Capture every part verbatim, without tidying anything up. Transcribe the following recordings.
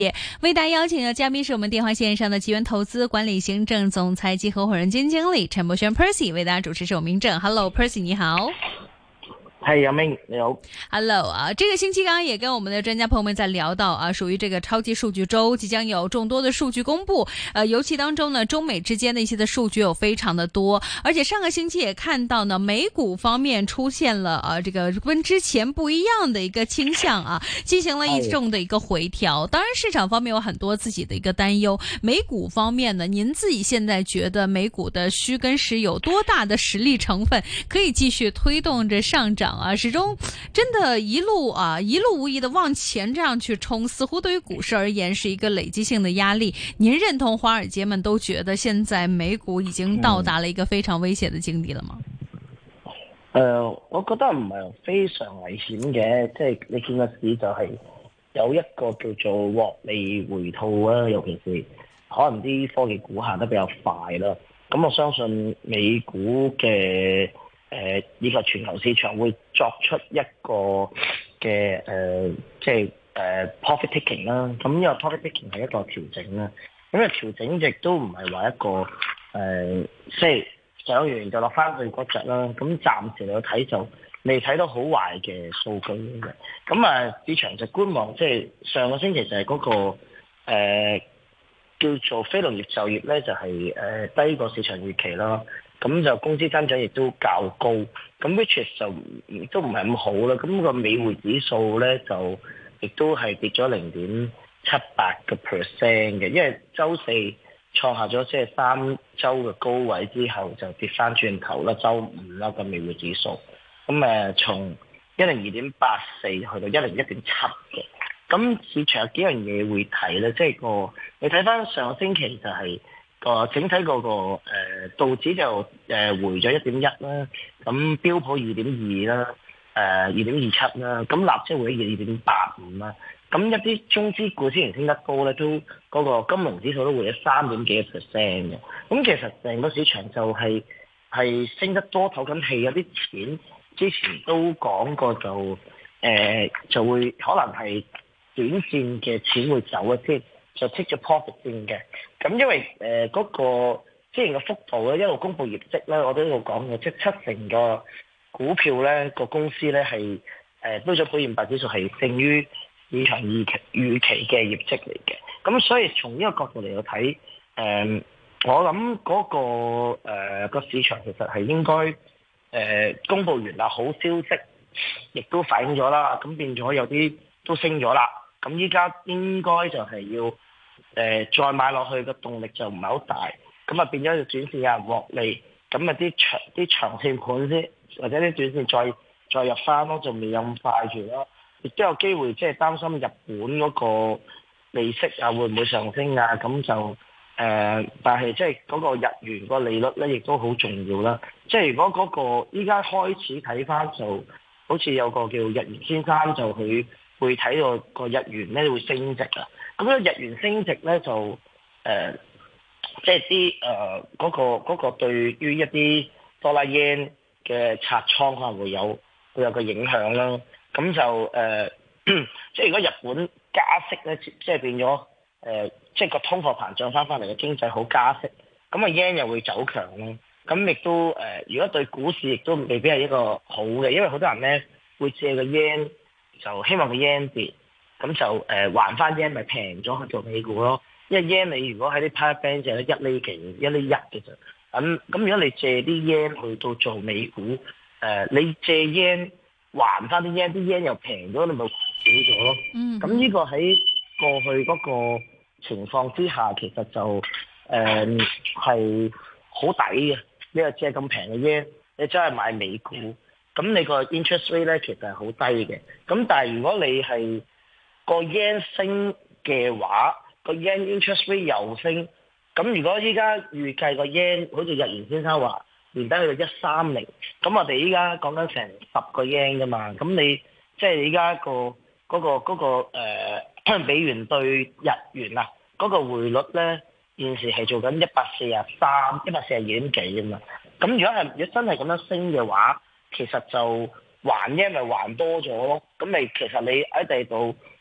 为大家邀請的嘉賓是我們電話線上的吉源投資管理行政總裁及合夥人兼經理陳柏軒 Percy， 為大家主持是我明正。Hello Percy， 你好。 係阿明你好 ，Hello 啊，這個星期剛剛也跟我們的專家朋友們在聊到啊，屬於這個超級數據周，即將有眾多的數據公布，呃，尤其當中呢，中美之間的一些的數據有非常的多，而且上個星期也看到呢，美股方面出現了啊，這個跟之前不一樣的一個傾向啊，進行了一眾的一個回調。當然，市場方面有很多自己的一個擔憂。美股方面呢，您自己現在覺得美股的虛跟實有多大的實力成分可以繼續推動着上漲？啊，始終真的一路啊一路無疑的往前這樣去衝，似乎對於股市而言是一個累積性的壓力。您認同華爾街們都覺得現在美股已經到達了一個非常危險的境地了嗎？ 誒、嗯呃，我覺得唔係非常危險嘅，即係你見個市就係有一個叫做獲利回吐啊，尤其是可能啲科技股行得比較快啦。咁我相信美股嘅誒，以及全球市場會作出一個嘅誒、呃，即係誒、呃、profit taking 啦。咁呢個 profit taking 係一個調整啦。咁嘅調整亦都唔係話一個誒、呃，即係上完就落翻去嗰隻啦。咁暫時嚟睇就未睇到好壞嘅數據嘅。咁啊，市場就觀望，即係上個星期就係嗰、那個、呃、叫做非農業就業咧，就係、是、誒、呃、低過市場預期啦。咁就工資增長亦都較高，咁 which 就都唔係咁好啦。咁個美匯指數咧就亦都係跌咗零點七八個 percent 嘅，因為週四創下咗即係三週嘅高位之後就跌翻轉頭啦，週五啦個美匯指數，咁誒從一零二點八四去到一零一點七嘅。咁市場有幾樣嘢會睇咧，即係個你睇翻上個星期就係、是。個整體嗰個誒道指就誒回咗一點一啦，咁標普二點二啦，誒二點二七啦，咁納指回咗二點八五啦，咁一啲中資股之前升得高咧，都嗰個金融指數都回咗三點幾個 percent 嘅，咁其實成個市場就係係升得多透緊氣，有啲錢之前都講過就誒就會可能係短線嘅錢會走一啲。就 take 咗 profit 先嘅，咁因為誒嗰、呃那個之前嘅幅度咧，一路公布業績咧，我都一路講嘅，即係七成個股票咧個公司咧係誒標準普爾五百指數係勝於市場預期預期嘅業績嚟嘅，咁所以從呢個角度嚟到睇，誒、呃、我諗嗰、那個誒、呃、個市場其實係應該誒、呃、公布完啦，好消息亦都反映咗啦，咁變咗有啲都升咗啦。咁依家應該就係要誒、呃、再買落去嘅動力就唔係好大，咁啊變咗要短線有人獲利，咁啊啲長啲長線盤先，或者啲短線再再入翻咯，就未有咁快住咯。亦都有機會即係擔心日本嗰個利息啊會唔會上升啊？咁就誒、呃，但係即係嗰個日元個利率咧，亦都好重要啦。即係如果嗰、那個依家開始睇翻，就好似有個叫日元先生就佢。會睇到個日元咧會升值啊！咁咧日元升值咧就誒、呃，即係啲誒嗰個嗰、嗰個對於一啲多啦 yen 嘅拆倉可能會有會有個影響啦。咁就誒、呃，即係如果日本加息咧，即係變咗誒、呃，即係個通貨膨脹翻翻嚟嘅經濟好加息，咁啊 yen 又會走強咯。咁亦都誒、呃，如果對股市亦都未必係一個好嘅，因為好多人咧會借個 yen。就希望個 yen 跌，咁就誒、呃、還翻 yen 咪平咗去做美股咯。因為 yen 你如果喺啲 private bank 就係一厘幾、一厘一嘅啫。咁咁如果你借啲 yen 去到做美股，誒、呃、你借 yen 還翻啲 yen，啲 yen 又平咗，你咪還少咗咯。嗯。咁呢個喺過去嗰個情況之下，其實就誒係好抵嘅。你又借咁平嘅 yen，你真係買美股。咁你個 interest rate 咧其實係好低嘅，咁但係如果你係個 yen 升嘅話，個 yen interest rate 又升，咁如果依家預計個 yen 好似日元先生話年底去到一三零，咁我哋依家講緊成十個 yen 㗎嘛，咁你即係依家個嗰個嗰個誒美元對日元啊嗰個匯率咧現時係做緊一百四十三、一百四十二點幾㗎嘛，咁如果係如果真係咁樣升嘅話，其實就還 yen 咪還多咗咯，咁你其實你喺第度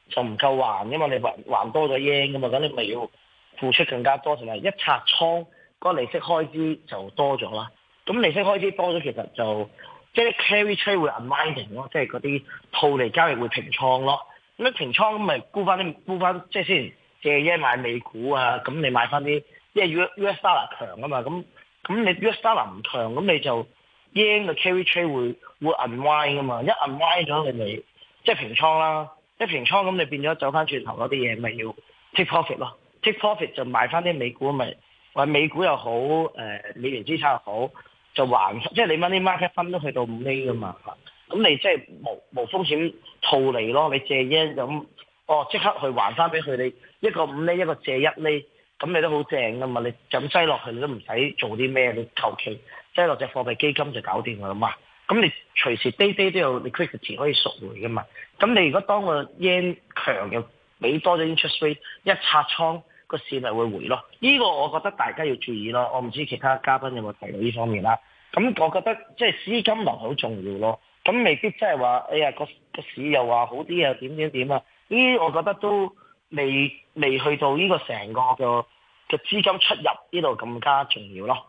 就唔夠還㗎嘛，你還還多咗 yen 㗎嘛，咁你咪要付出更加多，同埋一拆倉個利息開支就多咗啦。咁利息開支多咗，其實就即係 carry trade 會 unwinding 咯，即係嗰啲套利交易會平倉咯。咁一平倉咁咪沽翻啲沽翻，即係先借 yen 買美股啊，咁你買翻啲，因為 U S dollar 強啊嘛，咁咁你 U S dollar 唔強，咁你就 yen 嘅 carry trade 會會 unwind 噶嘛，一 unwind 咗你咪即係平倉啦，一平倉咁你變咗走翻轉頭嗰啲嘢咪要 take profit 咯 ，take profit 就買翻啲美股咪，或者美股又好，誒、呃、美元資產又好，就還即係你 money market fund 都去到五厘噶嘛，咁你即係無無風險套利咯，你借 yen 咁，哦即刻去還翻俾佢哋，一個五厘一個借一厘，咁你都好正噶嘛，你就咁擠落去你都唔使做啲咩，你求其擠落隻貨幣基金就搞掂㗎啦嘛。咁你隨時 day day 都有 liquidity 可以贖回㗎嘛。咁你如果當個 yen 強又俾多咗 interest rate， 一拆倉個市咪會回咯。呢、這個我覺得大家要注意咯。我唔知其他嘉賓有冇提到呢方面啦。咁我覺得即係資金流好重要咯。咁未必即係話，哎呀個個市又話好啲啊，點點點啊？呢啲我覺得都未未去到呢個成個嘅嘅資金出入呢度更加重要咯。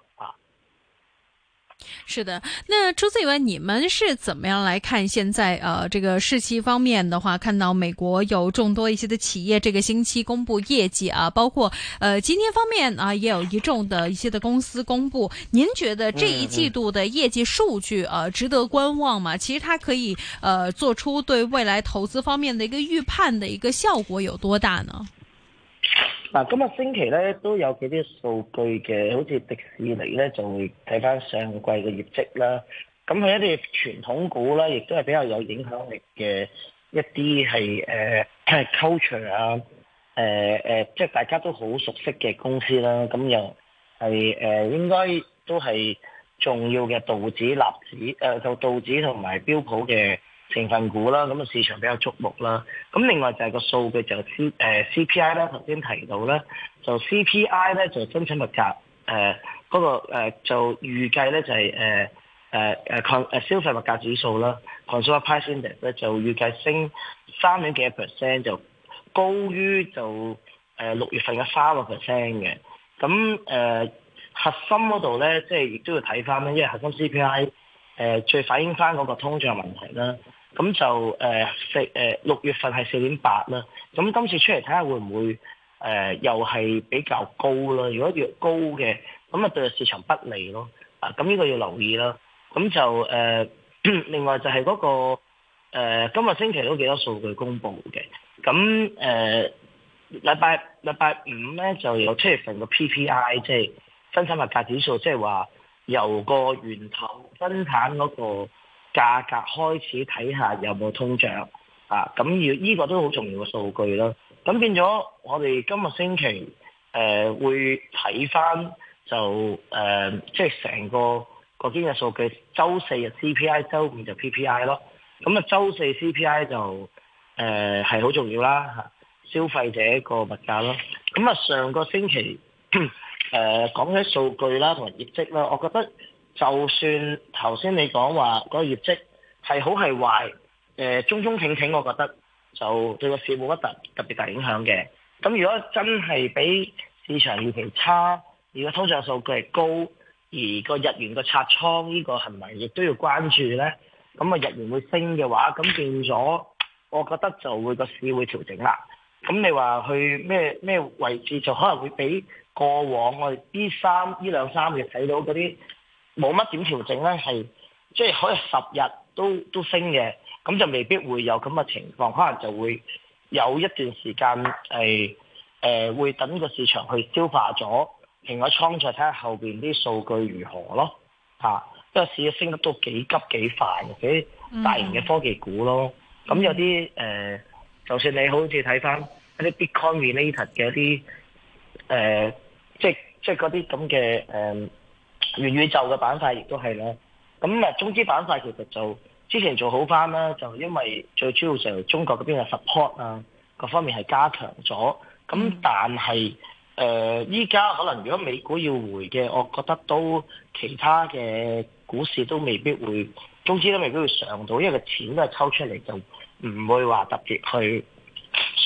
是的，那除此以外，你們是怎麼樣來看現在呃這個市期方面的話，看到美國有眾多一些的企業這個星期公布業績啊，包括呃今天方面啊也有一眾的一些的公司公布。您覺得這一季度的業績數據呃值得觀望嗎？其實它可以呃做出對未來投資方面的一個預判的一個效果有多大呢？ 嗱，今日星期咧都有幾啲數據嘅，好似迪士尼咧就會睇翻上季嘅業績啦。咁佢一啲傳統股啦，亦都係比較有影響力嘅一啲係誒係 culture 啊，誒、呃、誒、呃，即係大家都好熟悉嘅公司啦。咁又係誒應該都係重要嘅道指、納指誒，就道指同埋標普嘅成分股啦，咁啊市場比較矚目啦。咁另外就係個數據就 C 誒、呃、C P I 啦，頭先提到咧，就 C P I 咧就生產物價誒嗰個、呃、就預計咧就係誒誒誒抗誒消費物價指數啦 Consumer Price Index 咧就預計升三點幾 percent， 就高於就誒六、呃、月份嘅三個 percent 嘅。咁誒、呃、核心嗰度咧，即係亦都要睇翻咧，因為核心 C P I 誒、呃、最反映翻嗰個通脹問題啦。咁就誒四誒六月份係四點八啦，咁今次出嚟睇下會唔會誒、呃、又係比較高啦？如果越高嘅，咁啊對市場不利咯。啊，咁呢個要留意啦。咁就誒、呃、另外就係嗰、那個、呃、今日星期都幾多數據公布嘅。咁誒禮拜禮拜五咧就有七月份個 P P I， 即係生產物價指數，即係話由個源頭生產嗰、那個價格開始睇下有冇通脹啊，咁要呢個都好重要嘅數據啦。咁變咗我哋今日星期誒、呃、會睇翻就誒即係成個個經濟數據，周四嘅 C P I， 周五就 P P I 咯。咁啊周四 C P I 就誒係好重要啦嚇，消費者個物價咯。咁啊上個星期誒、呃、講起數據啦同埋業績啦，我覺得。就算頭先你講話嗰個業績係好係壞，誒、呃、中中挺挺，我覺得就對個市冇乜特特別大影響嘅。咁如果真係比市場預期差，如果通脹數據係高，而個日元個拆倉呢個係咪亦都要關注咧？咁啊日元會升嘅話，咁變咗，我覺得就會個市會調整啦。咁你話去咩咩位置，就可能會比過往我哋呢三呢兩三個月睇到嗰啲。冇乜點調整咧，係即係可以十日都都升嘅，咁就未必會有咁嘅情況，可能就會有一段時間係誒、呃、會等個市場去消化咗，平咗倉再睇下後邊啲數據如何咯嚇，因為市升得都幾急幾快嘅，幾大型嘅科技股咯，咁有啲誒、呃，就算你好似睇翻一啲 Bitcoin related 嘅一啲誒、呃，即係即係嗰啲咁嘅誒。元宇宙嘅板塊亦都係啦，咁啊中資板塊其實就之前做好翻啦，就因為最主要就中國嗰邊嘅 support 啊，各方面係加強咗，咁但係誒依家可能如果美股要回嘅，我覺得都其他嘅股市都未必會，中資都未必會上到，因為個錢都係抽出嚟，就唔會話特別去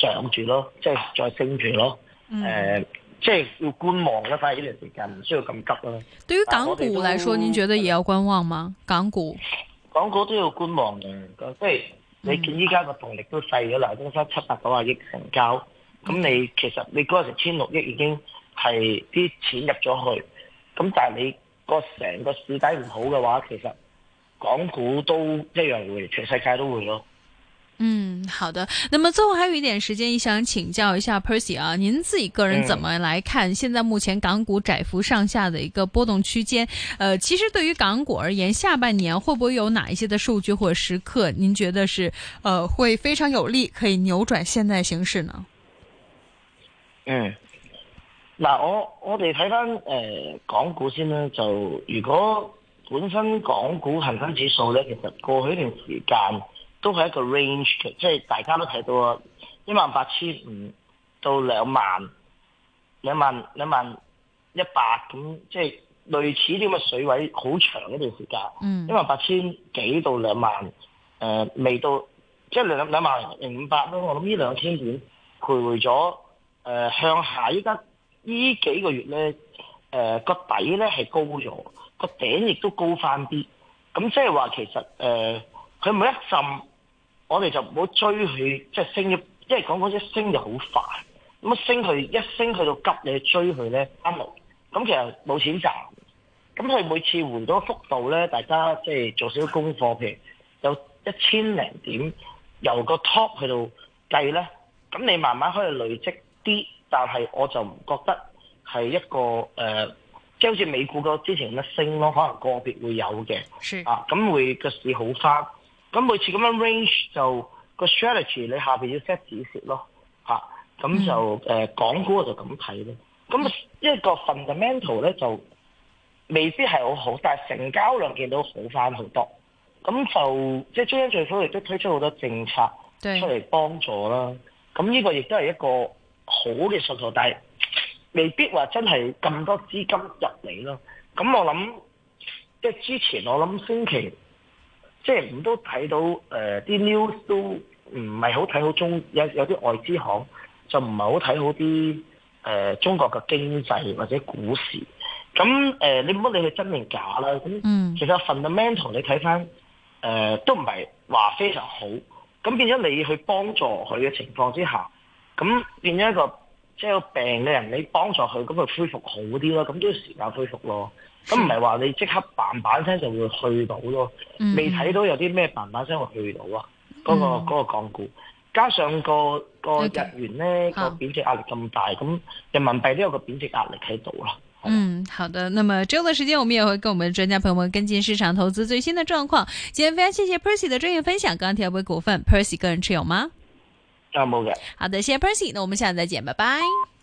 上住咯，即係再升住咯。誒、 嗯呃，即係要觀望啦，反而呢段時間唔需要咁急啦。 對於港股來說，您覺得也要觀望嗎？港股， 港股都要觀望嘅，即係你見依家個動力都細咗啦，都得七百九十億成交，咁、嗯、你其實你嗰陣時千六億已經係啲錢入咗去，咁但係你個成個市底唔好嘅話，其實港股都一樣會，全世界都會咯。 嗯，好的。那麼最後還有一點時間，想請教一下 Percy 啊，您自己個人怎麼來看現在目前港股窄幅上下的一個波動區間？呃，其實對於港股而言，下半年會不會有哪一些的數據或者時刻，您覺得是呃會非常有利，可以扭轉現在形勢呢？ 嗯，嗱，我我哋睇翻誒港股先啦，就如果本身港股恒生指數咧，其實過去一段時間都係一個 range 嘅，即係大家都睇到啊，一萬八千五到兩萬、兩萬、兩萬一百咁，即係類似啲咁嘅水位，好長一段時間。嗯，一萬八千幾到兩萬，誒、呃、未到，即係兩兩萬零五百咯。我諗呢兩千點徘徊咗，誒、呃、向下依家呢幾個月咧，誒、呃、個底咧係高咗，個頂亦都高翻啲。咁即係話其實誒，佢、呃、每一陣。我哋就唔好追佢，即係升咗，因為講嗰一升就好快，咁啊升佢一升去到急，你去追佢咧啱落，咁其實冇錢賺。咁佢每次回到幅度咧，大家即係做少少功課，譬如有一千零點，由個 top 去到計咧，咁你慢慢可以累積啲，但係我就唔覺得係一個誒、呃，即係好似美股個之前咁樣升咯，可能個別會有嘅，啊，咁會個市好翻。咁每次咁樣 range 就個 strategy 你下邊要 set 止蝕咯，嚇，咁就誒、嗯呃、港股我就咁睇咯。咁一個 fundamental 咧就未必係好好，但係成交量見到好翻好多。咁就即係中央政府亦都推出好多政策出嚟幫助啦。咁呢個亦都係一個好嘅信號，但係未必話真係咁多資金入嚟咯。咁我諗即係之前我諗星期。即係唔都睇到誒啲、呃、news 都唔係好睇好中有有啲外資行就唔係好睇好啲誒、呃、中國嘅經濟或者股市。咁誒、呃、你唔好理佢真定假啦。咁其實 fundamental 你睇翻誒都唔係話非常好。咁變咗你去幫助佢嘅情況之下，咁變咗一個即係有病嘅人，你幫助佢咁佢恢復好啲咯。咁都要時間恢復咯。咁唔係話你即刻嘭嘭聲就會去到咯，未睇到有啲咩嘭嘭聲會去到啊！嗰、嗯那個嗰、那個港股，加上個個日元咧個貶值壓力咁大，咁人民幣都有個貶值壓力喺度啦。 嗯，好的。那麼之後的時間，我們也會跟我們專家朋友們跟進市場投資最新的狀況。今天非常謝謝 Percy 的專業分享。鋼鐵股股份 Percy 個人持有嗎？ 啊，冇嘅。 好的，謝謝 Percy。那我們下次再見，拜拜。